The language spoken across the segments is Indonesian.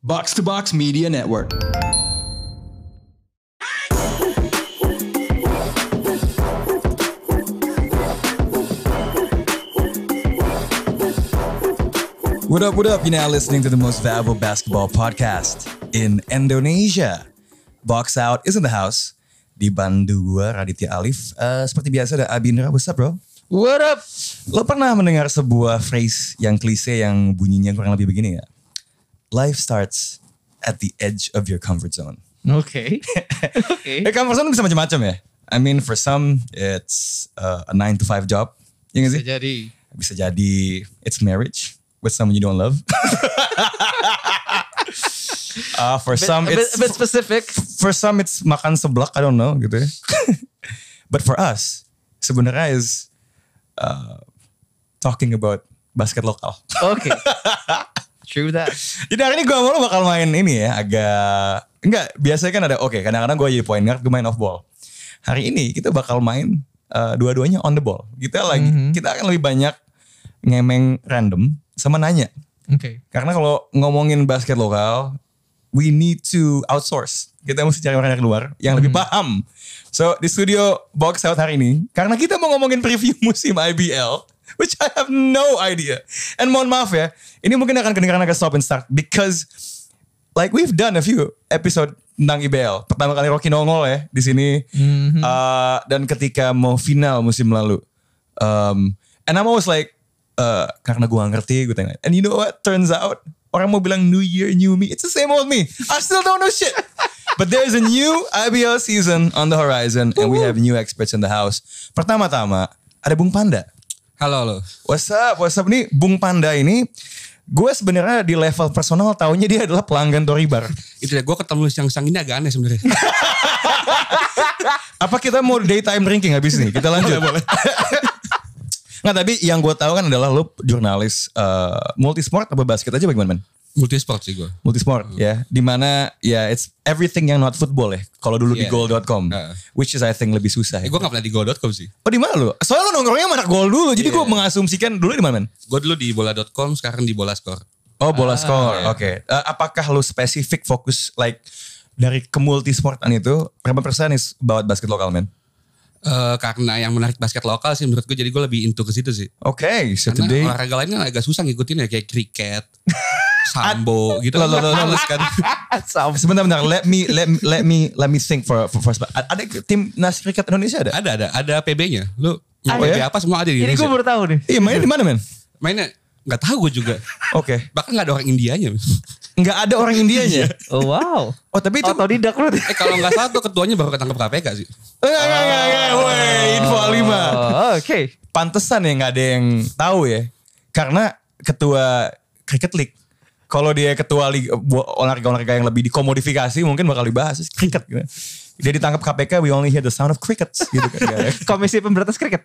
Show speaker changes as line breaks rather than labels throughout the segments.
Box to Box Media Network. What up, what up? You're now listening to the most valuable basketball podcast in Indonesia. Box Out is in the house. Dibantu gue, Raditya Alif. Seperti biasa ada Abindra. What's up, bro?
What up?
Lo pernah mendengar sebuah phrase yang klise yang bunyinya kurang lebih begini ya? Life starts at the edge of your comfort zone.
Oke.
Comfort zone bisa macam-macam ya. I mean, for some, it's a 9 to 5 job. Ya gak sih? Bisa jadi it's marriage with someone you don't love. For some, it's
a bit specific.
For some, it's makan seblak. I don't know gitu ya. But for us, sebenarnya is talking about basket lokal.
Oke. True that.
Jadi hari ini gue mau bakal main ini ya, enggak, biasanya kan ada, kadang-kadang gue jadi point guard, gue main off ball. Hari ini kita bakal main dua-duanya on the ball. Kita akan lebih banyak ngemeng random sama nanya.
Oke.
Karena kalau ngomongin basket lokal, we need to outsource. Kita mesti cari orang dari luar yang lebih paham. So di studio Box Out hari ini, karena kita mau ngomongin preview musim IBL, which I have no idea. And mohon maaf ya, ini mungkin akan kedengaran agak stop and start because like we've done a few episode tentang IBL. Pertama kali Rocky nongol ya di sini. Dan ketika mau final musim lalu. And I'm always like, karena gue gak ngerti, gue tanya. And you know what? Turns out, orang mau bilang new year, new me. It's the same old me. I still don't know shit. But there's a new IBL season on the horizon. And we have new experts in the house. Pertama-tama, ada Bung Panda.
Halo.
What's up? Nih Bung Panda ini, gue sebenarnya di level personal taunya dia adalah pelanggan Toribar.
Itu ya, gue ketemu siang-siang ini agak aneh sebenarnya.
Apa kita mau daytime drinking habis nih? Kita lanjut. Boleh. Nggak, tapi yang gue tahu kan adalah lo jurnalis multisport apa basket aja bagaimana, man?
Multisport sih gue.
Multisport ya, dimana ya it's everything yang not football ya. Kalau dulu di goal.com, which is I think lebih susah.
Gue gak pernah di goal.com sih.
Oh di mana lo? Soalnya lo nongkrongnya mana goal dulu, jadi gue mengasumsikan dulu di mana, man?
Gue dulu di bola.com, sekarang di bola skor.
Oh bola skor, oke. Apakah lo spesifik fokus like dari ke multisportan itu berapa persen is about basket lokal, man?
Karena yang menarik basket lokal sih menurut gue, jadi gue lebih into ke situ sih.
Oke, so
karena
today
olahraga lainnya agak susah ngikutin ya, kayak kriket, sambo gitu.
Males kan. Sebentar, let me think for ada timnas kriket Indonesia ada?
Ada PB-nya. Lu
Oh,
PB
ya?
apa semua ada di
Ini
Indonesia.
gue baru tahu nih.
Iya, mainnya di mana, men?
Mainnya nggak tahu gue juga.
Oke.
Bahkan nggak ada orang Indianya.
Nggak ada orang Indianya.
Oh wow.
Oh tapi itu
otodidak berarti.
Kalau nggak salah tuh ketuanya baru ketangkep KPK sih.
Woi, info 5.
Oke.
Pantesan ya nggak ada yang tahu ya. Karena ketua Cricket League. Kalau dia ketua olahraga yang lebih dikomodifikasi mungkin bakal dibahas kriket gitu. Dia ditangkap KPK, we only hear the sound of crickets gitu kan.
Komisi Pemberantas Kriket.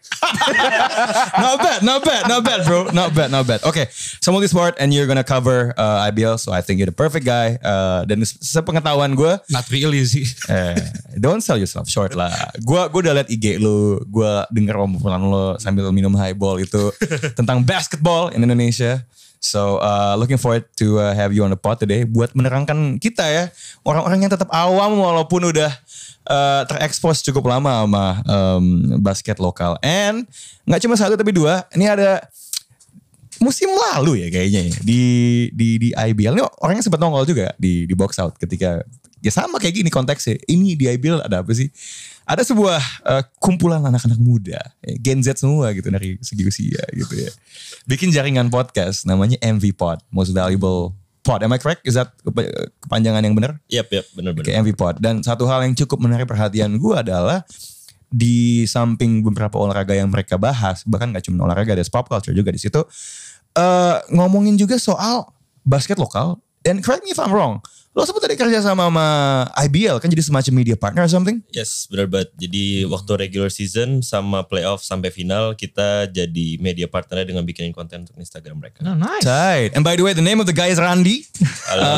Not bad bro. Not bad. Okay, so multisport and you're gonna cover IBL, so I think you're the perfect guy. Dan sepengetahuan gue,
Not really sih.
Don't sell yourself short lah. Gue udah liat IG lu, gue denger obrolan lo sambil minum highball itu tentang basketball in Indonesia. So looking forward to have you on the pod today buat menerangkan kita ya, orang-orang yang tetap awam walaupun udah terekspos cukup lama sama basket lokal. And nggak cuma satu tapi dua, ini ada musim lalu ya kayaknya ya, di IBL. Ini orangnya sempat nongol juga di Box Out ketika ya sama kayak gini konteksnya. Ini di IBL ada apa sih? Ada sebuah kumpulan anak-anak muda, Gen Z semua gitu dari segi usia gitu ya. Bikin jaringan podcast namanya MV Pod, Most Valuable Pod. Am I correct? Is that kepanjangan yang benar?
Yep, benar.
Oke, MV Pod. Dan satu hal yang cukup menarik perhatian gue adalah di samping beberapa olahraga yang mereka bahas, bahkan gak cuma olahraga, ada pop culture juga di situ. Ngomongin juga soal basket lokal. And correct me if I'm wrong, lo sempat tadi kerja sama IBL kan jadi semacam media partner or something?
Yes, benar banget. Jadi waktu regular season sama playoff sampai final kita jadi media partner dengan bikinin konten untuk Instagram mereka.
Oh, nice.
Right. And by the way, the name of the guy is Randy.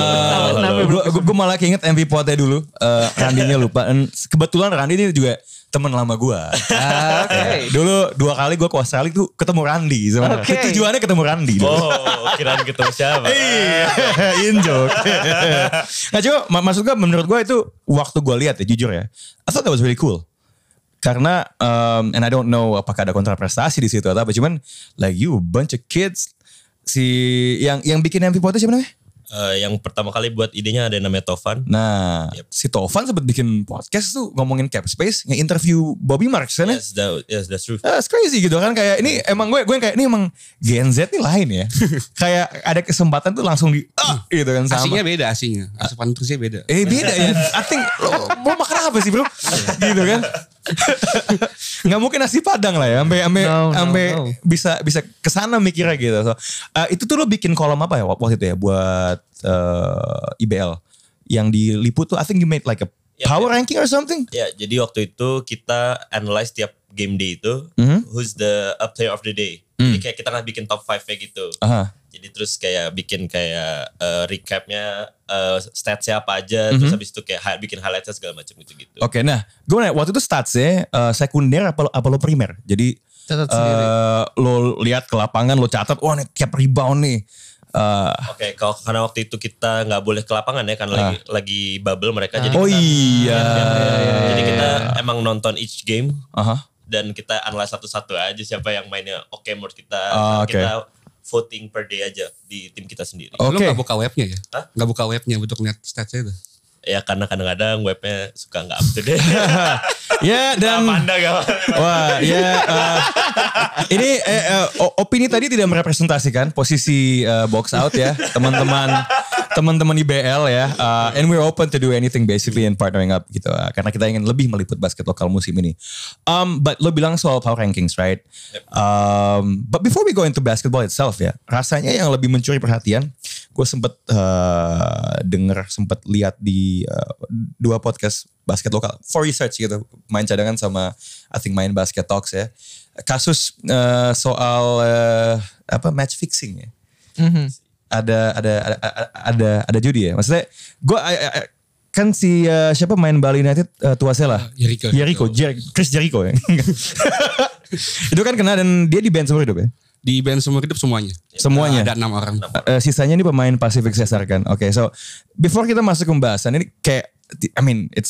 Halo.
Gue malah keinget MV Potnya dulu. Randy-nya lupa. Dan kebetulan Randy ini juga temen lama gue.
Oke.
Dulu 2 kali gue ke Australia tuh ketemu Randy sebenarnya.
Oke.
Tujuannya ketemu Randy.
Oh, kirain ketemu siapa?
Iya, in joke. Nah cuma maksud gue menurut gue itu waktu gue lihat ya jujur ya, I thought that was really cool. Karena and I don't know apakah ada kontraprestasi di situ atau apa, cuman like you bunch of kids, si yang bikin MVP Podcast siapa namanya?
Yang pertama kali buat idenya ada yang namanya Tovan.
Nah, si Tovan sempat bikin podcast tuh ngomongin cap space, nge-interview Bobby Marks kan ya?
Yes, that's true.
That's crazy gitu kan, kayak ini emang gue kayak ini emang Gen Z nih lain ya. Kayak ada kesempatan tuh langsung gitu kan sama.
Asingnya beda asingnya. Asupan nutrisinya beda.
Beda ya. I think lo mau makan apa sih bro? Gitu kan. Nggak mungkin nasi padang lah ya. Sampai
No.
bisa kesana mikirnya gitu. So, itu tuh lo bikin kolom apa ya waktu itu ya buat IBL yang diliput tuh. I think you made like a power ranking or something.
Ya, jadi waktu itu kita analyze tiap game day itu, who's the player of the day. Jadi kayak kita nggak bikin top 5-nya gitu. Jadi terus kayak bikin kayak recapnya statsnya apa aja, terus habis itu kayak bikin highlightsnya segala macam gitu.
Oke, nah gue nanya waktu itu statsnya sekunder apa lo primer? Jadi
Catat sendiri.
lo lihat ke lapangan, lo catat, wah nih tiap rebound nih.
Oke, karena waktu itu kita nggak boleh ke lapangan ya, karena lagi bubble mereka. Jadi
Oh
kita,
iya.
Jadi kita emang nonton each game
Aha.
dan kita analyze satu-satu aja siapa yang mainnya oke menurut kita.
Oke.
Kita voting per day aja di tim kita sendiri.
Oh.
Lu
Oke.
gak buka webnya ya?
Hah?
Gak buka webnya untuk lihat statsnya itu?
Ya karena kadang-kadang webnya suka nggak up to date.
Ya dan
Panda gak?
wah ya ini opini tadi tidak merepresentasikan posisi box out ya teman-teman IBL ya, and we're open to do anything basically and partnering up gitu, karena kita ingin lebih meliput basket lokal musim ini. But lo bilang soal power rankings, right? But before we go into basketball itself ya, rasanya yang lebih mencuri perhatian, gue sempet sempet lihat di 2 podcast basket lokal for research gitu, main cadangan sama I think main basket talks ya, kasus soal match fixing ya. Ada judi ya, maksudnya gue kan si siapa main Bali United Tuasela Chris Jericho ya. Itu kan kena dan dia di ban seumur hidup ya.
Di band seumur hidup semuanya.
Semuanya.
Ada 6 orang.
Sisanya ini pemain Pacific Cesar kan. Oke, so before kita masuk ke pembahasan ini kayak I mean it's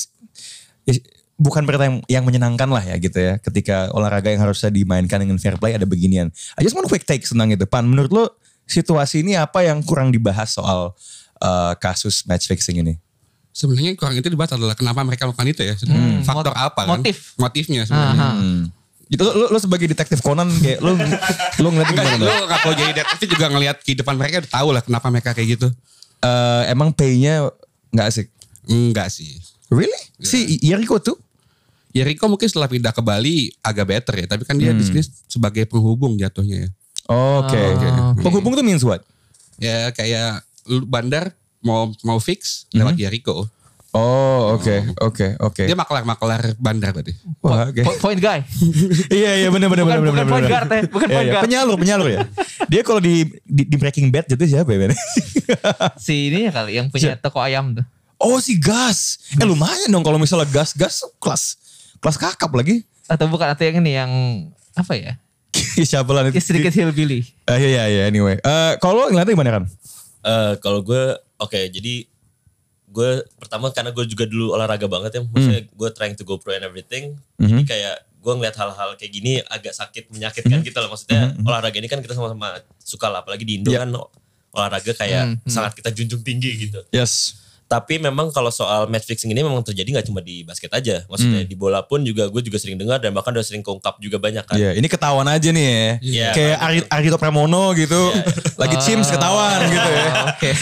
bukan berita yang menyenangkan lah ya gitu ya, ketika olahraga yang harusnya dimainkan dengan fair play ada beginian. I just want quick take tentang itu. Pan, menurut lo situasi ini apa yang kurang dibahas soal kasus match fixing ini?
Sebenarnya kurang itu dibahas adalah kenapa mereka melakukan itu ya. Faktor apa kan? Motifnya sebenarnya.
Itu lo sebagai detektif Conan kayak lo ngeliat gimana?
Lu gak perlu jadi detektif juga ngelihat kehidupan mereka udah tahu lah kenapa mereka kayak gitu.
Emang pay-nya gak asik?
Enggak sih.
Really? Si Jericho tuh?
Jericho mungkin setelah pindah ke Bali agak better ya. Tapi kan dia di sini sebagai penghubung jatuhnya ya.
Oke. Penghubung tuh means what?
Ya kayak lu bandar mau fix lewat Jericho.
Oh oke.
Dia maklar bandar berarti.
Wah, oke.
Point guy.
Iya benar.
Bukan point guard ya. Bukan point guard.
Penyalur ya. Dia kalau di Breaking Bad jadi siapa ya?
Si ini ya kali yang punya toko ayam tuh.
Oh si Gas. Lumayan dong kalau misalnya Gas kelas kakap lagi.
Atau yang ini yang apa ya?
Siapa lah?
Sedikit hillbilly.
Iya anyway. Kalau ngeliatnya gimana kan?
Kalau gue jadi gue pertama karena gue juga dulu olahraga banget ya, maksudnya gue trying to go pro and everything, jadi kayak gue ngeliat hal-hal kayak gini agak menyakitkan gitu loh, maksudnya olahraga ini kan kita sama-sama suka lah, apalagi di Indo kan olahraga kayak sangat kita junjung tinggi gitu.
Yes.
Tapi memang kalau soal match fixing ini memang terjadi gak cuma di basket aja. Maksudnya di bola pun juga gue juga sering dengar dan bahkan udah sering keungkap juga banyak kan.
Iya, ini ketahuan aja nih ya.
Yeah.
Kayak Arito Pramono gitu. Lagi Chims ketahuan gitu ya.
Oke.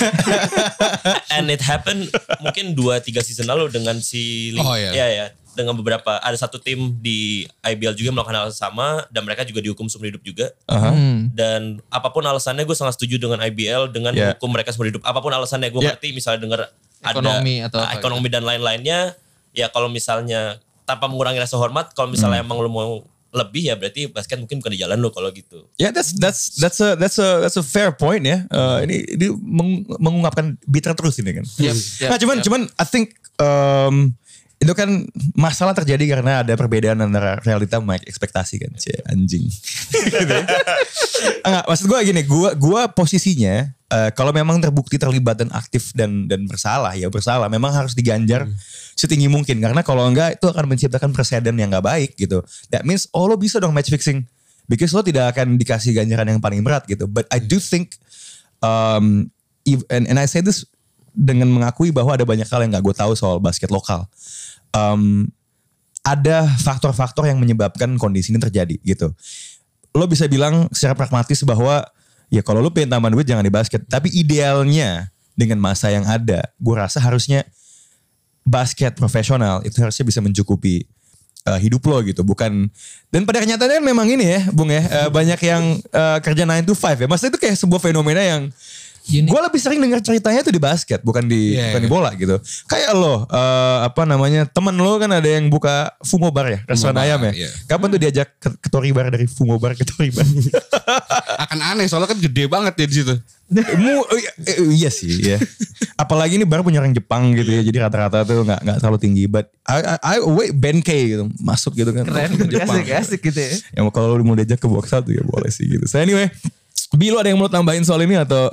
And it happened mungkin 2-3 season lalu dengan si ya dengan beberapa, ada satu tim di IBL juga melakukan hal sama dan mereka juga dihukum seumur hidup juga. Dan apapun alasannya gue sangat setuju dengan IBL dengan hukum mereka seumur hidup. Apapun alasannya gue ngerti, misalnya dengar
Ekonomi
ada
atau apa
ekonomi dan lain-lainnya, ya kalau misalnya tanpa mengurangi rasa hormat, kalau misalnya emang lu mau lebih ya berarti basket mungkin bukan di jalan lu kalau gitu.
Ya, that's a fair point ya. Ini mengungkapkan bitter terus ini kan.
Yep.
Nah, cuman I think itu kan masalah terjadi karena ada perbedaan antara realita sama ekspektasi kan. Anjing. Gitu ya. Enggak, maksud gue gini, gue posisinya kalau memang terbukti terlibat dan aktif dan bersalah ya bersalah, memang harus diganjar setinggi mungkin, karena kalau enggak itu akan menciptakan preseden yang enggak baik gitu. That means lo bisa dong match fixing, because lo tidak akan dikasih ganjaran yang paling berat gitu. But I do think and I say this dengan mengakui bahwa ada banyak hal yang gak gue tahu soal basket lokal. Ada faktor-faktor yang menyebabkan kondisi ini terjadi gitu. Lo bisa bilang secara pragmatis bahwa ya kalau lo pengen tambahan duit jangan di basket. Tapi idealnya dengan masa yang ada, gue rasa harusnya basket profesional itu harusnya bisa mencukupi hidup lo gitu. Bukan, dan pada kenyataannya memang ini ya Bung ya, banyak yang kerja 9 to 5 ya. Maksudnya itu kayak sebuah fenomena yang gue lebih sering dengar ceritanya tuh di basket, bukan di bola gitu. Kayak lo, teman lo kan ada yang buka Fumo Bar ya, restoran ayam ya.
Iya.
Kapan tuh diajak ke Tori Bar, dari Fumo Bar ke Tori Bar?
Akan aneh soalnya kan gede banget ya di situ.
Iya sih ya. Apalagi ini bar punya orang Jepang gitu ya, jadi rata-rata tuh nggak terlalu tinggi. But I wait Ben K gitu masuk gitu kan.
Keren,
Jepang.
asik gitu ya.
Yang kalau lu mau diajak ke box satu ya boleh sih gitu. So anyway, Bi, lu ada yang mau tambahin soal ini atau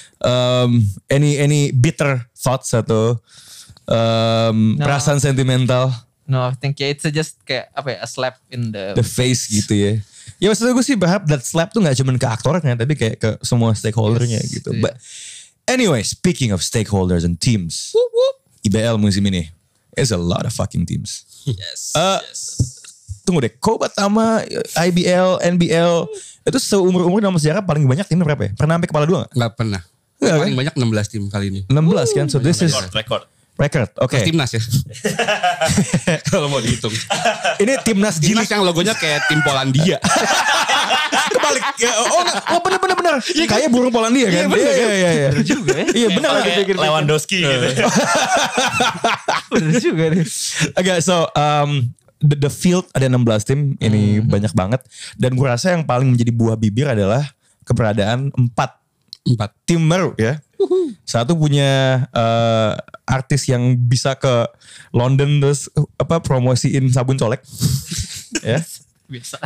any bitter thoughts atau perasaan sentimental?
No, I think it's just kayak a slap in
the face gitu ya. Ya maksudnya gue sih berharap that slap tuh gak cuma ke aktornya, tapi kayak ke semua stakeholdernya gitu.
Yeah.
But anyway, speaking of stakeholders and teams, IBL musim ini is a lot of fucking teams.
Yes.
Tunggu deh, Kobat sama IBL, NBL itu seumur-umur dalam sejarah paling banyak timnya berapa ya? Pernah sampai kepala 2 gak?
Gak pernah.
Nggak,
Paling
kan?
banyak 16 tim kali ini.
16 kan, so this is record. Oke.
Timnas ya. Kalau mau dihitung.
Ini timnas
Timnas
Gilik.
yang logonya kayak tim Polandia.
Kebalik. Bener. Kayak burung Polandia kan? Iya.
Bener juga ya.
Iya bener.
Kayak Lewandowski gitu.
Bener juga nih.
Oke, so the field ada 16 tim. Ini banyak banget. Dan gue rasa yang paling menjadi buah bibir adalah keberadaan 4 tim baru ya. Satu punya artis yang bisa ke London terus promosiin sabun colek. Ya.
Biasa.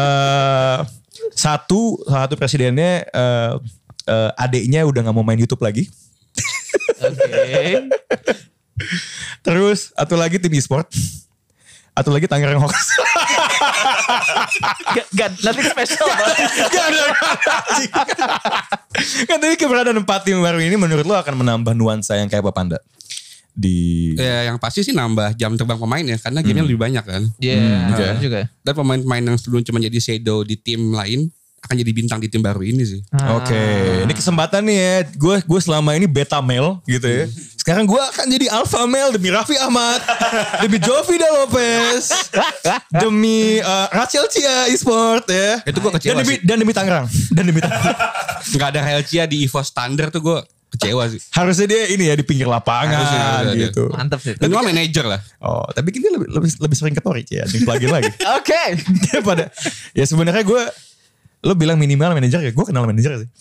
Satu presidennya adiknya udah nggak mau main YouTube lagi.
Oke.
Terus satu lagi tim e-sport. Atau lagi Tangerang Hawks.
Gak, nothing special banget.
Gak ada. Kan tapi keberadaan 4 tim baru ini menurut lo akan menambah nuansa yang kayak apa Panda?
Ya yang pasti sih nambah jam terbang pemain ya. Karena gamenya lebih banyak kan.
Iya,
Okay.
juga.
Dan pemain-pemain yang sebelum cuma jadi shadow di tim lain akan jadi bintang di tim baru ini sih.
Oke, ini kesempatan nih ya. Gue selama ini beta male gitu ya. Sekarang gue akan jadi alpha male demi Raffi Ahmad, demi Jovida Lopez, demi Rachel Chia e-sport ya.
Itu gue kecewa sih.
Dan demi Tangerang.
Gak ada Helcia di EVO standar tuh gue kecewa sih.
Harusnya dia ini ya di pinggir lapangan
Harusnya,
gitu.
Mantap sih.
Dan cuma manajer lah.
Oh, tapi kita lebih sering ke Tori ya, plugin lagi.
Oke.
Daripada ya sebenarnya gue, lo bilang minimal manajer ya, gue kenal manajer sih.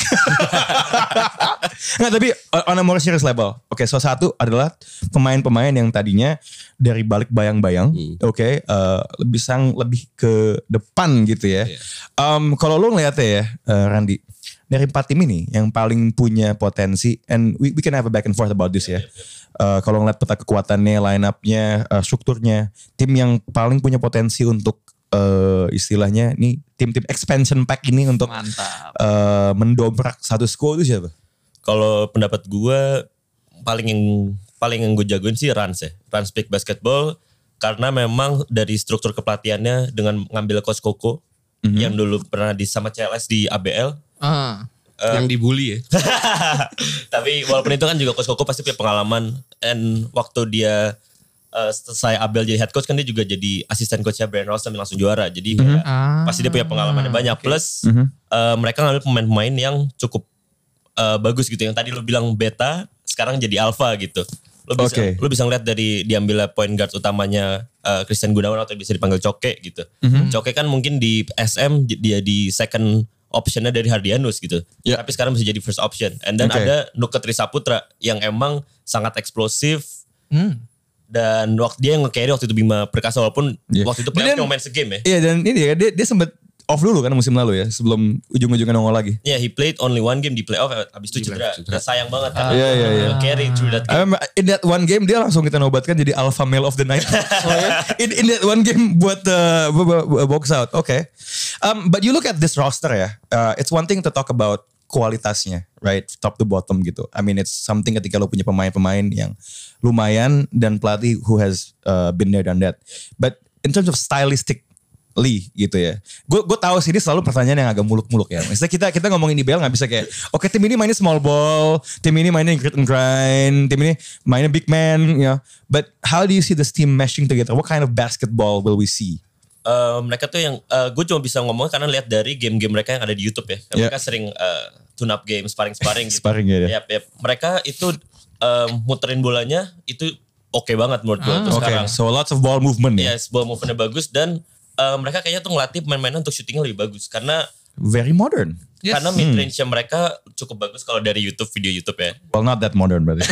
Nggak, tapi on a more serious level. Oke, so satu adalah pemain-pemain yang tadinya dari balik bayang-bayang, lebih ke depan gitu ya. Kalau lo ngeliatnya ya, Randy, dari 4 tim ini yang paling punya potensi, and we can have a back and forth about this ya. Kalau ngeliat peta kekuatannya, line up-nya, strukturnya, tim yang paling punya potensi untuk istilahnya nih tim-tim expansion pack ini untuk
Mantap.
mendobrak status quo itu siapa?
Kalau pendapat gue paling yang gue jagoin sih Rans ya. Rans Peak Basketball karena memang dari struktur kepelatihannya dengan ngambil coach Koko yang dulu pernah sama CLS di ABL.
Yang dibully ya.
Tapi walaupun itu kan juga coach Koko pasti punya pengalaman, and waktu dia selesai Abel jadi head coach kan dia juga jadi asisten coachnya Brian Ross dan langsung juara. Jadi pasti dia punya pengalaman yang banyak. Plus mereka ngambil pemain-pemain yang cukup bagus gitu. Yang tadi lo bilang beta, sekarang jadi alpha gitu. Lo bisa ngeliat dari diambilnya point guard utamanya Christian Gunawan atau bisa dipanggil Coke gitu. Coke kan mungkin di SM dia di second optionnya dari Hardianus gitu. Tapi sekarang bisa jadi first option. And then ada Nuka Trisaputra yang emang sangat eksplosif. Dan waktu dia yang nge-carry waktu itu Bima Perkasa walaupun waktu itu playoff cuma main segame ya.
Iya dan ini ya dia sempat off dulu kan musim lalu ya sebelum ujung-ujungnya nongol lagi.
Yeah, he played only one game di playoff habis itu cedera. Sayang banget kan.
Iya.
Carry through that game.
I remember in that one game dia langsung kita nobatkan jadi alpha male of the night. in that one game buat box out. Okay. But you look at this roster ya. It's one thing to talk about kualitasnya, right? Top to bottom gitu. I mean it's something ketika lo punya pemain-pemain yang lumayan dan pelatih who has been there done that. But in terms of stylistic gitu ya. Gue tahu sih ini selalu pertanyaan yang agak muluk-muluk ya. Misalnya kita ngomongin IBL nggak bisa kayak, oke, tim ini mainnya small ball, tim ini mainnya grit and grind, tim ini mainnya big man, you know. But how do you see this team meshing together? What kind of basketball will we see?
Mereka tuh yang gue cuma bisa ngomong karena lihat dari game-game mereka yang ada di YouTube ya. Mereka sering tune up game, sparring gitu.
Sparring ya.
Yep. Mereka itu muterin bolanya itu oke banget menurut gue tuh sekarang.
So lots of ball movement ya.
Yes, ball movementnya bagus dan mereka kayaknya tuh ngelatih pemain-painan untuk shootingnya lebih bagus karena
very modern.
Yes.
Karena mid range-nya mereka cukup bagus kalau dari video YouTube ya.
Well, not that modern berarti.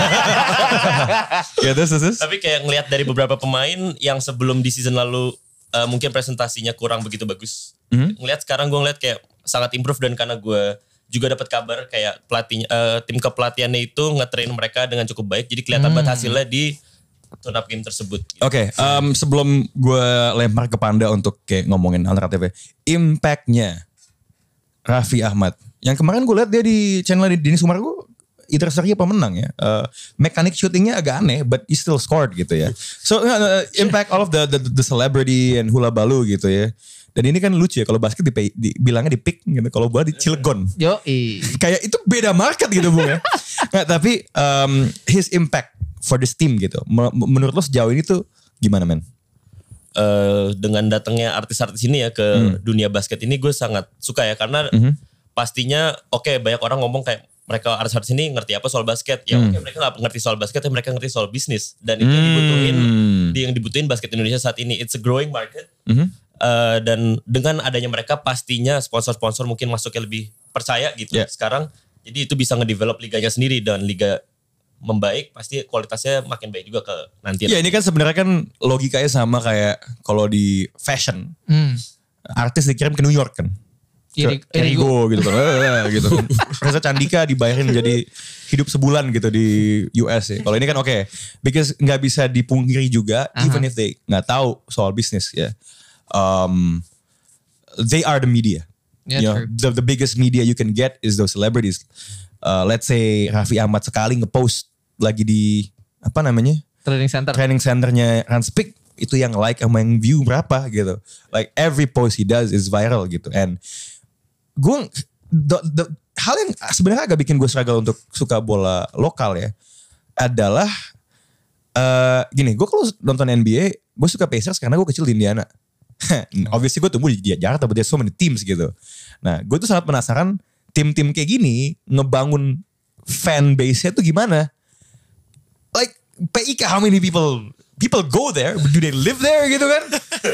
Yeah, this.
Tapi kayak ngelihat dari beberapa pemain yang sebelum di season lalu mungkin presentasinya kurang begitu bagus. Ngelihat sekarang gue ngelihat kayak sangat improve dan karena gue juga dapat kabar kayak pelatihnya tim kepelatihannya itu nge-train mereka dengan cukup baik. Jadi kelihatan banget hasilnya di tune-up game tersebut. Gitu.
Oke, sebelum gue lempar ke Panda untuk kayak ngomongin alternatifnya, impact-nya Raffi Ahmad. Yang kemarin gue lihat dia di channel Dini Sumargo, either seri apa menang ya. Mekanik shootingnya agak aneh, but he still scored gitu ya. So impact all of the celebrity and hula balu gitu ya. Dan ini kan lucu ya, kalau basket bilangnya di pick gitu, kalau bola di Cilegon. Kayak itu beda market gitu Bung ya. Nggak, tapi his impact for this team gitu. Menurut lo sejauh ini tuh gimana men?
Dengan datangnya artis-artis ini ya ke dunia basket ini gue sangat suka ya karena pastinya banyak orang ngomong kayak mereka artis-artis ini ngerti apa soal basket ya mereka nggak ngerti soal basket tapi mereka ngerti soal bisnis dan itu yang dibutuhin basket Indonesia saat ini. It's a growing market dan dengan adanya mereka pastinya sponsor-sponsor mungkin masuknya lebih percaya gitu sekarang jadi itu bisa ngedevelop liganya sendiri dan liga membaik pasti kualitasnya makin baik juga ke nanti.
Ya ini kan sebenarnya kan logikanya sama kayak kalau di fashion. Artis dikirim ke New York kan. Erigo gitu kan. Gitu kan. Reza Candika dibayarin menjadi hidup sebulan gitu di US ya. Kalau ini kan because nggak bisa dipungkiri juga even if they nggak tahu soal bisnis ya. They are the media.
Yeah,
the biggest media you can get is those celebrities. Let's say Raffi Ahmad sekali ngepost lagi di training centernya Ranspik itu yang like sama yang view berapa gitu. Like every post he does is viral gitu. And gue hal yang sebenarnya agak bikin gue struggle untuk suka bola lokal ya adalah gini, gue kalau nonton NBA gue suka Pacers karena gue kecil di Indiana. Obviously gue tumbuh di Jakarta, but there's so many teams gitu. Nah gue tuh sangat penasaran tim-tim kayak gini ngebangun fan base-nya tuh gimana? Like PIK, how many people go there? Do they live there gitu kan?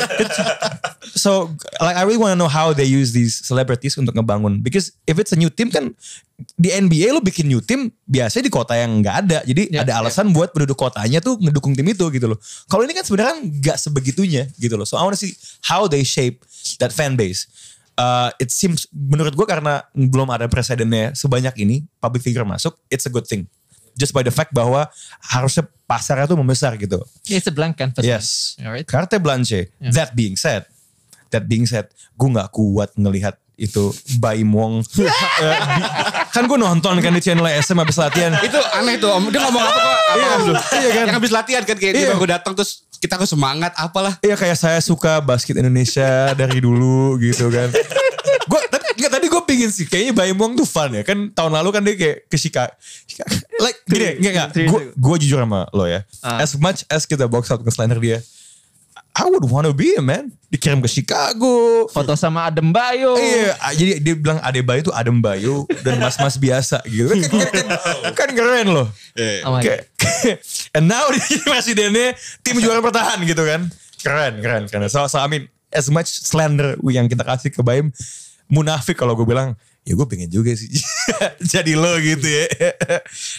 So like I really want to know how they use these celebrities untuk ngebangun. Because if it's a new team kan di NBA lo bikin new team biasanya di kota yang nggak ada. Jadi ada alasan buat penduduk kotanya tuh ngedukung tim itu gitu loh. Kalau ini kan sebenarnya nggak sebegitunya gitu loh. So I want to see how they shape that fan base. It seems menurut gue karena belum ada presidennya sebanyak ini public figure masuk, it's a good thing. Just by the fact bahwa harusnya pasarnya tuh membesar gitu.
It's a blank canvas.
Yes.
Right?
Carte blanche. Yeah. That being said, gue gak kuat ngelihat itu Baim Wong. Kan gue nonton kan di channel SM habis latihan.
Itu aneh tuh, dia ngomong apa kok? Iya kan? Yang habis latihan kan kayak dia baru datang terus kita semangat apalah.
Iya kayak saya suka basket Indonesia dari dulu gitu kan. Tadi gue pingin sih kayaknya Baim Wong tuh fun ya. Kan tahun lalu kan dia kayak ke Chicago. Like gini gue jujur sama lo ya. As much as kita box out nge-slander dia, I would wanna be a man. Dikirim ke Chicago.
Foto sama Adem Bayo.
Iya, jadi dia bilang Ade Bayo tuh Adem Bayo dan mas-mas biasa gitu. Kan keren loh. And now dia presidennya tim juara bertahan gitu kan. Keren. So I mean, as much slander yang kita kasih ke Baim, munafik kalau gue bilang, ya gue pengen juga sih jadi lo gitu ya. Nah,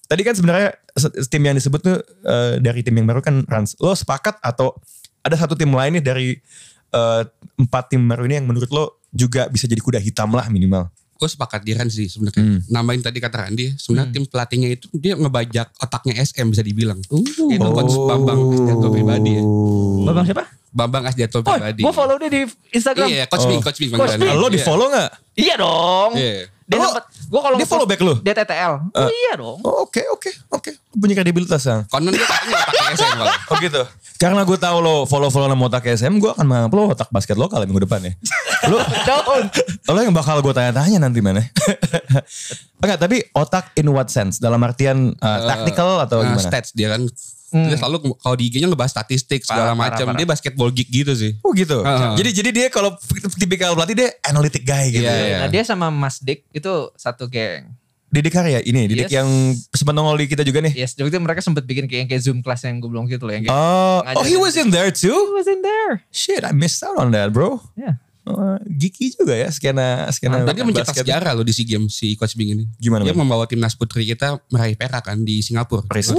tadi kan sebenarnya tim yang disebut tuh dari tim yang baru kan Rans. Lo sepakat atau ada satu tim lain nih dari 4 tim baru ini yang menurut lo juga bisa jadi kuda hitam lah minimal?
Gue sepakat di Ran sih sebenarnya. Nambahin tadi kata Randy, sebenarnya tim pelatihnya itu dia ngebajak otaknya SM bisa dibilang. Itu coach Bambang Asdianto pribadi ya.
Bambang siapa?
Bambang Asdianto
Oh,
pribadi.
gue follow dia di Instagram.
Iya, Coach Bing panggilan.
Bing.
Lo di follow gak?
Iya dong.
Iya.
Dia
Oh,
sempet, gue kalau
dia follow back lu?
Dia TTL. Oh iya dong.
Oh, oke. Punya kredibilitas Sang.
Konon dia katanya otaknya SM malah.
Oh gitu. Karena gue tahu lo follow nama otak SM, gue akan menganggap lo otak basket lokal minggu depan ya. Lo yang bakal gue tanya-tanya nanti mana. Enggak, tapi otak in what sense? Dalam artian tactical atau gimana?
Stats dia kan. Dia selalu kalau di IG-nya ngebahas statistik segala macam. Dia basketball geek gitu sih.
Oh gitu. Jadi dia kalau tipikal pelatih dia analytic guy gitu.
Iya.
Nah dia sama Mas Dik itu satu geng.
Didik Karya ini, Didik
Yes.
yang sempat nongol di kita juga nih.
Yes, waktu itu mereka sempat bikin kayak Zoom class yang gue bilang gitu loh. Yang kayak
Oh, he was in there
He
too?
was in there.
Shit, I missed out on that bro.
Yeah.
Geeky juga ya skena
Tadi dia mencetak
basket.
sejarah loh di SEA Games si Coach Bing ini.
Gimana,
Dia
Man?
membawa timnas putri kita meraih perak kan di Singapura.
Respect.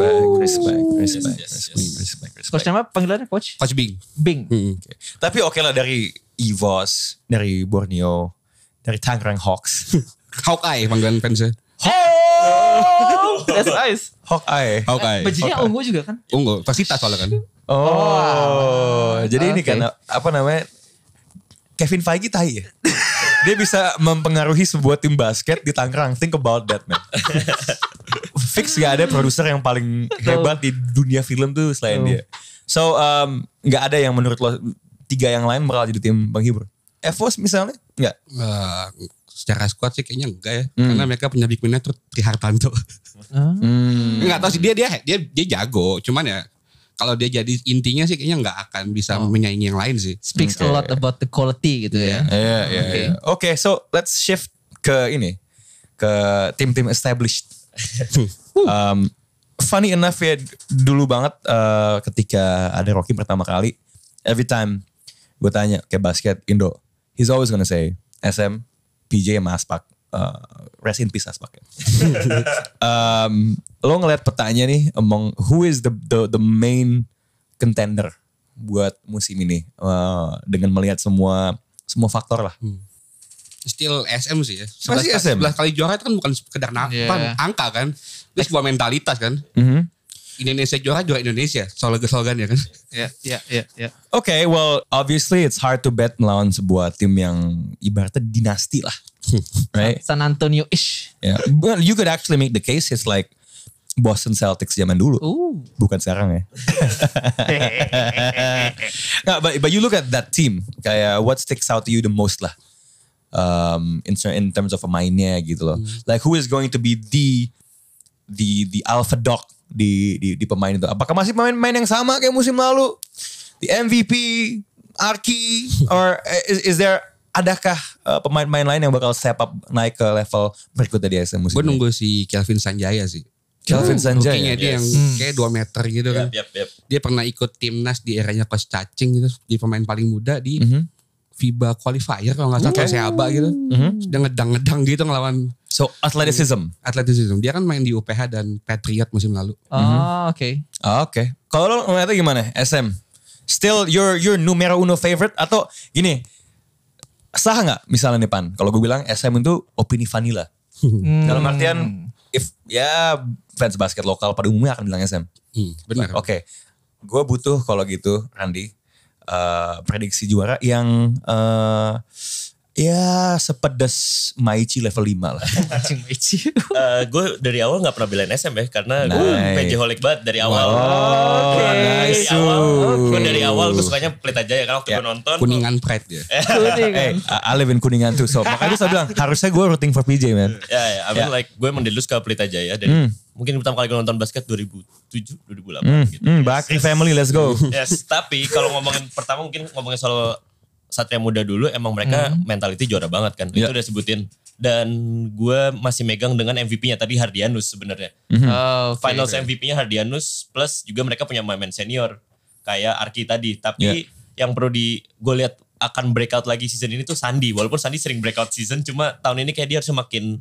Coach nama panggilannya Coach
Coach Bing.
Bing.
Tapi oke lah dari EVOS, dari Borneo, dari Tangerang Hawks.
Hawkeye panggilan fansnya.
Oh, that's nice.
Hawkeye.
Bajunya ungu juga kan?
Unggul, fasilitas soalnya kan.
Jadi ini
Oke.
kan apa namanya? Kevin Feige tai ya. Dia bisa mempengaruhi sebuah tim basket di Tangerang. Think about that, man. Fix gak ada produser yang paling hebat di dunia film tuh selain dia. So, gak ada yang menurut lo 3 yang lain bakal jadi tim penghibur? EVOS misalnya? Enggak.
Secara squad sih kayaknya enggak ya. Karena mereka punya big man-nya tuh Tri Hartanto. Enggak tahu sih dia jago. Cuman ya kalau dia jadi intinya sih kayaknya nggak akan bisa menyaingi yang lain sih.
Speaks a lot about the quality gitu ya.
Iya. Oke, so let's shift ke ini. Ke tim-tim established. Funny enough ya, dulu banget ketika ada Rocky pertama kali, every time gue tanya kayak basket Indo, he's always gonna say SM, PJ sama Aspak. Rest in peace Aspak ya. Lo ngeliat petanya nih among who is the main contender buat musim ini dengan melihat semua faktor lah.
Still SM sih ya.
Masih SM?
11 kali juara itu kan bukan sekedar angka kan. Itu sebuah mentalitas kan. Indonesia juara Indonesia. Slogan ya kan.
Iya.
Okay, well obviously it's hard to bet melawan sebuah tim yang ibaratnya dinasti lah. Right?
San Antonio-ish.
Yeah. Well, you could actually make the case it's like Boston Celtics zaman dulu. Bukan sekarang ya. Nah, but you look at that team, kayak what sticks out to you the most lah. In terms of pemainnya gitu loh. Like who is going to be the alpha dog di pemain itu? Apakah masih pemain-pemain yang sama kayak musim lalu? The MVP, Arki, or is there adakah pemain-pemain lain yang bakal step up naik ke level berikutnya di SM musim
Gue
ini?
nunggu si Kelvin Sanjaya sih.
Kelvin Sanjaya.
Rookie-nya dia yang kayak 2 meter gitu kan.
Yap.
Dia pernah ikut timnas di eranya Coach Cacing gitu. Di pemain paling muda di FIBA qualifier kalau gak salah kayak Seaba gitu. Dia ngedang-ngedang gitu ngelawan
So athleticism.
atletisme. Dia kan main di UPH dan Patriot musim lalu.
Oh, oke.
Oke. Kalau lo ngeliatnya gimana? SM. Still your numero uno favorite atau gini? Sah nggak misalnya nih Pan? Kalau gue bilang SM itu opini vanilla. Dalam artian if ya fans basket lokal pada umumnya akan bilang SM.
Benar.
Oke. Gue butuh kalau gitu Randy prediksi juara yang ya sepedas Maichi level 5 lah.
Anjing Meici.
Gue dari awal gak pernah belain SM ya. Karena gue
Nice.
PJ holic banget dari awal.
Oh,
Dari
nice.
awal. Gue dari awal gue sukanya Pelita Jaya. Karena waktu gue nonton.
Kuningan Pride dia.
Hey, I live in Kuningan tuh. So makanya saya bilang harusnya gue rooting for PJ man.
Ya, I mean like gue emang dari dulu suka Pelita Jaya. Dan mungkin pertama kali gue nonton basket 2007, 2008 gitu.
Bakri family, let's go.
Yes, tapi kalau ngomongin pertama mungkin ngomongin soal Satria Muda dulu emang mereka mentality juara banget kan.
Yeah.
Itu udah sebutin. Dan gue masih megang dengan MVP-nya tadi Hardianus sebenarnya.
Oh,
Finals MVP-nya Hardianus plus juga mereka punya pemain senior kayak Arki tadi. Tapi yang perlu gue lihat akan breakout lagi season ini tuh Sandi. Walaupun Sandi sering breakout season cuma tahun ini kayak dia harusnya makin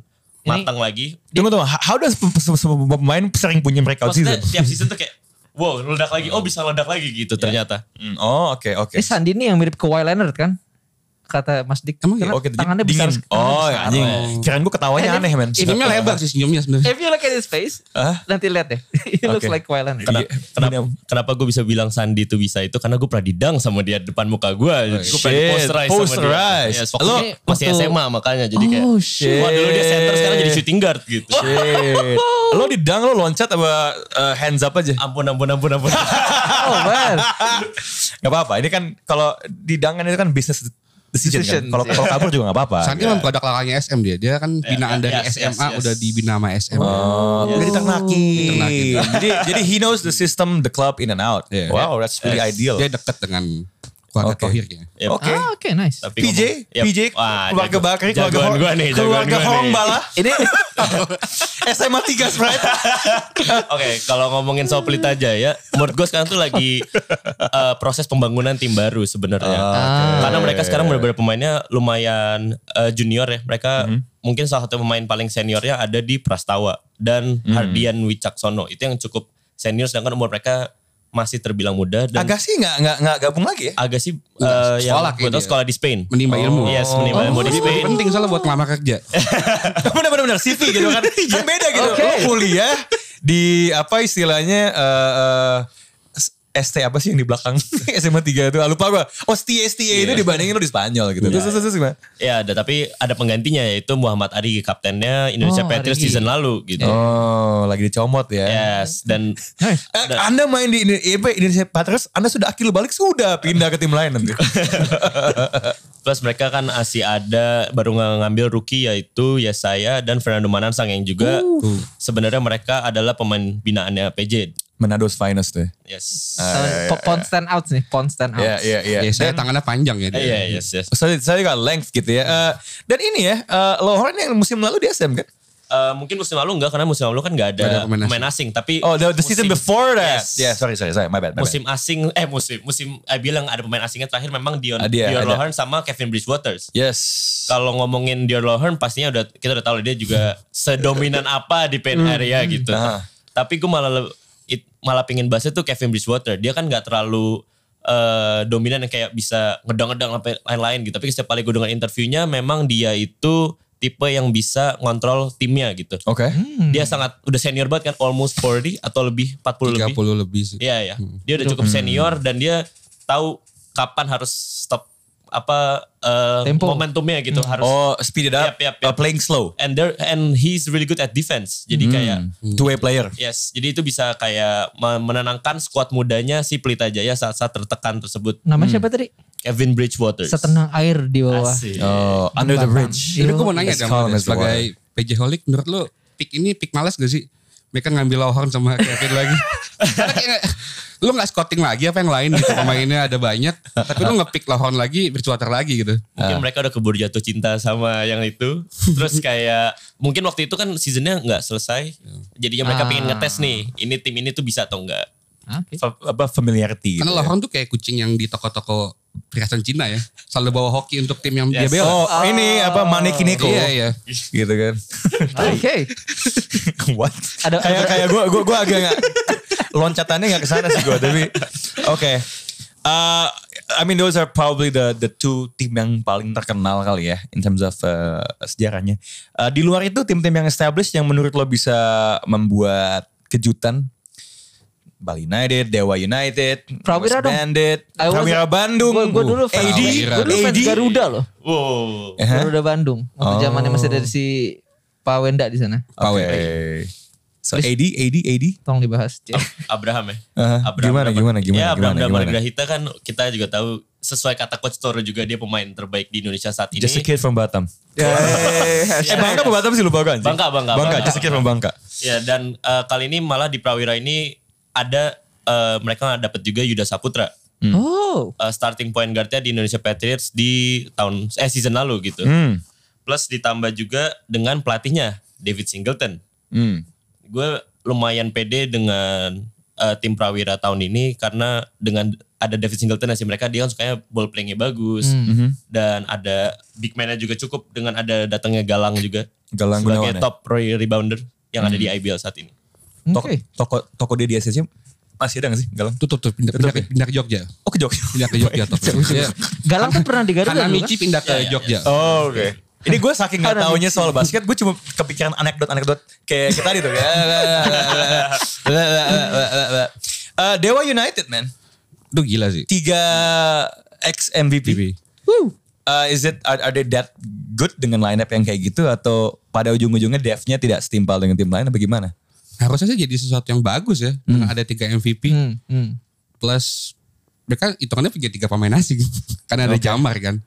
matang lagi.
Tunggu. How does pemain sering punya breakout
Maksudnya
season?
tiap season tuh kayak wow ledak lagi. Oh bisa ledak lagi gitu ternyata.
Oh oke.
Ini Sandi nih yang mirip ke Kawhi Leonard kan? Kata Mas Dik.
Emang
Karena
Oke,
tangannya
dingin.
besar.
Oh anjing. Kirain gue ketawanya aneh men.
Senyumnya lebar sih senyumnya sebenarnya.
If you look at his face, nanti lihat deh. He looks
Oke.
like Kawhi Leonard.
Kenapa gue bisa bilang Sandi itu bisa itu karena gue pernah didang sama dia depan muka gue. Gue pernah
shit.
di-posterize sama dia.
Posterize.
Yes, waktu
Lo
dia masih
waktu-
SMA makanya jadi kayak.
Oh, shit.
Wah dulu dia center sekarang jadi shooting guard gitu.
Shit. Lo didang lo loncat apa hands up aja?
Ampun.
Oh man.
Gak apa-apa. Ini kan kalau didangan itu kan business decision kan.
Decision,
Kalau kabur juga gak apa-apa.
Sandi memang produk lakalnya SM dia. Dia kan binaan dari
yes,
SMA
yes.
udah dibina sama SM.
Oh, udah diternakin. jadi he knows the system, the club in and out.
Yeah.
Wow, that's really ideal.
Dia deket dengan keluarga
Oke.
Tohirnya.
Yep.
Oke.
Oke, nice.
Tapi
PJ, keluarga Bakri,
jagoan gue nih, jagoan
keluarga
gue
Horong
nih.
Bala,
Ini
SMA 3 Sprite.
Oke, kalau ngomongin soal Pelita Jaya, menurut gue sekarang tuh lagi proses pembangunan tim baru sebenarnya. Karena mereka sekarang benar-benar pemainnya lumayan junior ya. Mereka mungkin salah satu pemain paling seniornya ada di Prastawa dan Hardian Wicaksono. Itu yang cukup senior sedangkan umur mereka masih terbilang muda dan
Agassi nggak gabung lagi ya?
Agassi
Enggak,
yang
sekolah
gue tahu
kayaknya.
sekolah di Spain.
Menimba ilmu.
Yes, menimba ilmu di Spain.
Penting soalnya buat ngelamar kerja.
Bener-bener CV gitu kan. Kan beda gitu.
Oke.
Lo kuliah di apa istilahnya ST apa sih yang di belakang SMA 3 itu? Lupa gue. Oh STA itu dibandingin lo di Spanyol gitu. Terus gimana?
Ya, tapi ada penggantinya yaitu Muhammad Ari, kaptennya Indonesia
Oh,
Patriots
Ari.
season lalu gitu.
Oh lagi dicomot ya.
Yes, dan
Anda main di Indonesia Patriots, Anda sudah akil balik sudah pindah ke tim lain nanti.
plus mereka kan masih ada baru ngambil rookie yaitu Yesaya dan Fernando Manansang yang juga sebenarnya mereka adalah pemain binaannya PJ.
Manado's finest deh.
Yes.
Pon stand out nih, pon stand out.
Iya.
Ya, saya tangannya panjang ya dia.
Iya, yes.
Saya juga length gitu ya. Dan ini ya, Lohorn yang musim lalu di SM kan?
Mungkin musim lalu enggak karena musim lalu kan enggak ada
Nggak ada
pemain asing. Tapi
Oh, the season before that.
Yes.
Yeah, sorry, my bad.
Musim asing, musim bilang ada pemain asingnya terakhir memang Dion
Ada.
Lohorn sama Kevin Bridgewaters.
Yes.
Kalau ngomongin Dion Lohorn pastinya kita udah tahu dia juga sedominan apa di paint area gitu. Tapi gue malah pingin bahasnya tuh Kevin Bridgewater. Dia kan gak terlalu dominan yang kayak bisa ngedang-ngedang sampai lain-lain gitu. Tapi setiap kali gue dengar interviewnya memang dia itu tipe yang bisa ngontrol timnya gitu.
Oke.
Dia sangat udah senior banget kan, almost 40 atau lebih 40 lebih.
30 lebih sih.
Iya. Dia udah cukup senior dan dia tahu kapan harus stop
Tempo.
momentumnya gitu harus.
Oh, speed it up.
Yap.
Playing slow.
And he's really good at defense. Jadi kayak
Two-way player.
yes, jadi itu bisa kayak menenangkan skuad mudanya si Pelita Jaya saat-saat tertekan tersebut.
Namanya siapa tadi?
Kevin Bridgewaters.
Setenang air di bawah.
Asik.
Oh, under the bridge.
Jadi gue mau nanya
Let's
dong,
call him as the
sebagai PJ Holic, menurut lo pick ini pick malas gak sih? Mereka ngambil Lohorn sama Kevin lagi. Karena kayak lo gak scouting lagi apa yang lain gitu, pemainnya ada banyak. Tapi lo nge-pick Lohorn lagi, Bridgewater lagi gitu.
Mungkin mereka udah keburu jatuh cinta sama yang itu. Terus kayak mungkin waktu itu kan seasonnya nggak selesai. Jadinya mereka pengen ngetes nih, ini tim ini tuh bisa atau enggak.
Oke.
Familiarity.
Karena
gitu ya.
Lohorn tuh kayak kucing yang di toko-toko perhiasan Cina ya. Selalu bawa hoki untuk tim yang dia
Yes.
bela.
Oh, ini apa Manekineko.
Iya.
Gitu kan.
Oke.
What?
Ada-
kayak gue agak nggak loncatannya nggak kesana sih gue tapi oke. I mean those are probably the two tim yang paling terkenal kali ya in terms of sejarahnya. Di luar itu tim-tim yang established yang menurut lo bisa membuat kejutan. Bali United, Dewa United,
Prawira
West
dong.
Bandit,
I was-
Prawira Bandung,
Gue dulu fans,
AD,
gue dulu fans Garuda loh.
Wow.
Garuda Bandung. Waktu zamannya masih dari si Pak Wenda di sana.
Oke. So AD.
Tolong dibahas.
Abraham ya.
Gimana?
Ya Abraham Grahita kan kita juga tahu sesuai kata Coach Toro juga dia pemain terbaik di Indonesia saat ini.
Just a kid from Batam. Bangka apa Batam sih lupa gue anjing.
Bangka.
Just a kid from Bangka.
Ya dan kali ini malah di Prawira ini ada mereka dapat juga Yuda Saputra.
Oh.
Starting point guardnya di Indonesia Patriots di season lalu gitu. Plus ditambah juga dengan pelatihnya David Singleton. Gue lumayan pede dengan tim Prawira tahun ini karena dengan ada David Singleton sih mereka dia kan sukanya ball playingnya bagus dan ada big man-nya juga cukup dengan ada datangnya Galang juga.
Galang
sebagai
Gunawan ya?
top rebounder yang ada di IBL saat ini.
Toko dia di SSC masih ada gak sih Galang?
Tutup pindah ke Jogja.
Oh ke Jogja.
Pindah ke Jogja top. Iya.
Galang tuh pernah di Garuda dulu kan?
Hanamichi pindah ke Jogja.
Oh oke. Ini gue saking gak taunya soal basket, gue cuma kepikiran anekdot kayak tadi tuh. Dewa United man.
Itu gila sih.
3 ex MVP. Are they that good dengan lineup yang kayak gitu atau pada ujung-ujungnya depth-nya tidak setimpal dengan tim lain apa gimana?
Harusnya sih jadi sesuatu yang bagus ya. Dengan ada 3 MVP. Plus mereka hitungannya punya 3 pemain asing. Karena ada Jamar kan.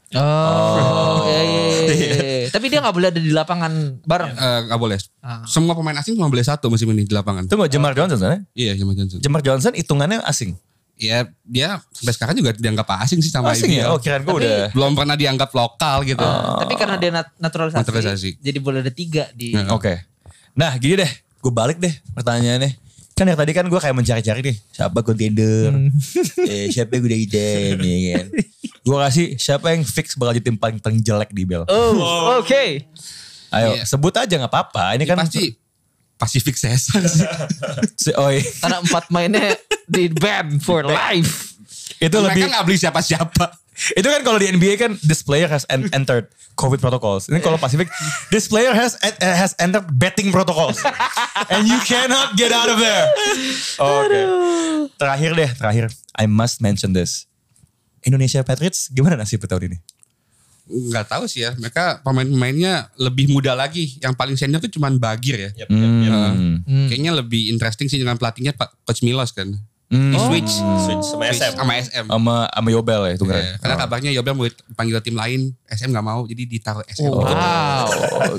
Iya. Tapi dia gak boleh ada di lapangan bareng.
Gak boleh. Semua pemain asing cuma boleh 1 musim ini di lapangan.
Tunggu Jamar Johnson kan?
Iya Jamar Johnson.
Jamar Johnson hitungannya asing.
Ya dia sampai sekarang juga dianggap asing sih sama
Asing
IBL.
ya? Oh kirain gue udah.
Belum pernah dianggap lokal gitu.
Tapi karena dia naturalisasi. Jadi boleh ada 3 di.
Oke. Nah gini deh. Gue balik deh pertanyaannya. Kan yang tadi kan gue kayak mencari-cari nih. Siapa contender. Siapa yang udah iden. Ya kan. Gue kasih siapa yang fix bakal jadi tim paling jelek di IBL.
Oh oke.
Ayo sebut aja gak apa-apa. Ini kan
Pasti Pacific Caesar sih.
Karena 4 mainnya di ban for life.
Itu
Mereka
lebih
gak beli siapa-siapa.
itu kan kalau di NBA kan this player has entered COVID protocols. Ini kalau Pacific this player has entered betting protocols. And you cannot get out of there. Oke. Terakhir. I must mention this. Indonesia Patriots gimana nasib tahun ini?
Gak tahu sih ya. Mereka pemain-pemainnya lebih muda lagi. Yang paling senior tuh cuman Bagir ya.
Yep.
Kayaknya lebih interesting sih dengan pelatihnya Pak Coach Milos kan. Di switch
Switch sama SM.
Sama Yobel ya itu kan.
Karena kabarnya Yobel mau panggil tim lain, SM gak mau, jadi ditaruh SM.
Wow.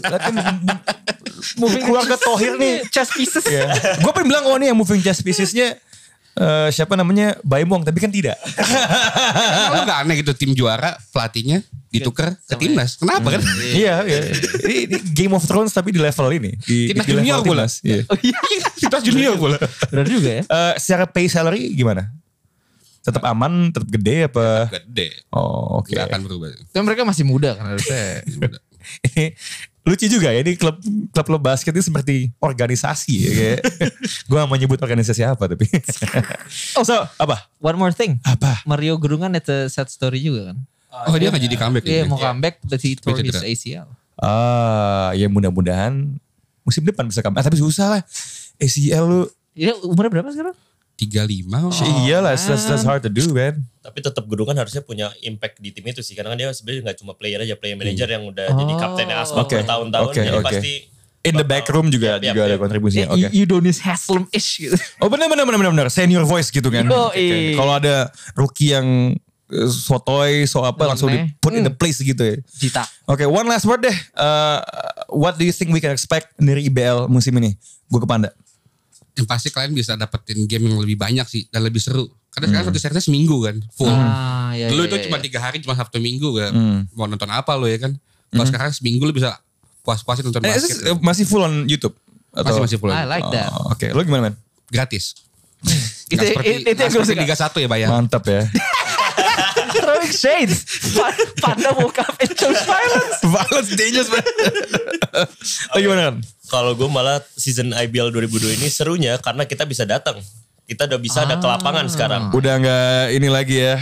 Moving keluarga Thohir nih.
Chess pieces.
Gue pengen bilang nih yang moving chess piecesnya siapa namanya Baimong, tapi kan tidak.
Kalau gak aneh gitu tim juara pelatihnya ditukar ke timnas. Kenapa kan?
Iya. Ini Game of Thrones tapi di level ini. Di
Timnas
level
junior bola.
timnas. Iya.
Timnas junior bola.
Benar juga ya.
Secara pay salary gimana? Tetap aman, tetap gede apa?
Gede.
Oh oke.
Gak akan berubah.
Tapi mereka masih muda kan harusnya.
Ini lucu juga ya, ini klub basket ini seperti organisasi ya kayak. Gue gak mau nyebut organisasi apa tapi. So apa?
One more thing.
Apa?
Mario Gerungan itu sad story juga kan.
Oh dia gak jadi comeback
Iya
ya?
mau comeback but he tore his
Cedera.
ACL.
Ya mudah-mudahan musim depan bisa comeback. Tapi susah lah. ACL lu.
Iya umurnya berapa sekarang?
35.
Iyalah, that's hard to do man.
Tapi tetap Gerungan harusnya punya impact di tim itu sih. Karena kan dia sebenarnya gak cuma player aja. Player manager yang udah jadi kaptennya Aspak bertahun-tahun.
Oke.
Jadi pasti
In the back room juga ada kontribusinya. Oke.
Udonis Haslem-ish gitu.
Oh benar. Senior voice gitu kan.
Yoi.
Kalau ada rookie yang sotoy, langsung di put in the place gitu ya.
Cita.
Oke, one last word deh. What do you think we can expect dari IBL musim ini? Gue ke Panda.
Yang pasti kalian bisa dapetin game yang lebih banyak sih. Dan lebih seru. Karena sekarang satu seriesnya seminggu kan. Full. Dulu itu cuma 3 hari, cuma Sabtu Minggu kan. Mau nonton apa lo ya kan. Kalau sekarang seminggu lo bisa puas-puasin nonton basket.
Masih full on YouTube?
Masih full.
I like that.
Oke, lo gimana man?
Gratis.
Itu yang gue suka.
Liga 1 ya bayar.
Mantap ya.
Throwing shades. Panda woke up and chose violence.
Violence dangerous man. Lo gimana kan?
kalau gue malah season IBL 2002 ini serunya karena kita bisa datang. Kita udah bisa ada ke lapangan sekarang.
Udah nggak ini lagi ya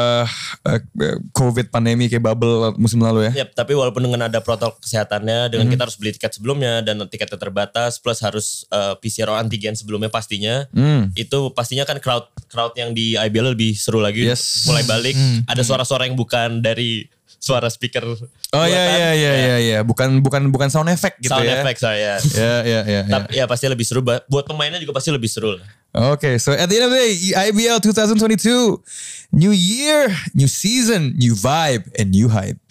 COVID pandemi kayak bubble musim lalu ya.
Yap, tapi walaupun dengan ada protokol kesehatannya, dengan kita harus beli tiket sebelumnya dan tiketnya terbatas, plus harus PCR antigen sebelumnya pastinya, itu pastinya kan crowd yang di IBL lebih seru lagi.
Yes.
Mulai balik, ada suara-suara yang bukan dari suara speaker.
Oh iya, bukan sound effect gitu
Sound
ya.
effect saya.
Ya.
Tapi ya pasti lebih seru. Buat pemainnya juga pasti lebih seru lah.
Okay, so at the end of the day, IBL 2022, new year, new season, new vibe, and new hype.